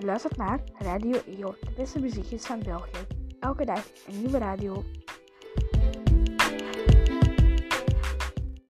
Je luistert naar Radio EO, de beste muziekjes van België. Elke dag een nieuwe radio.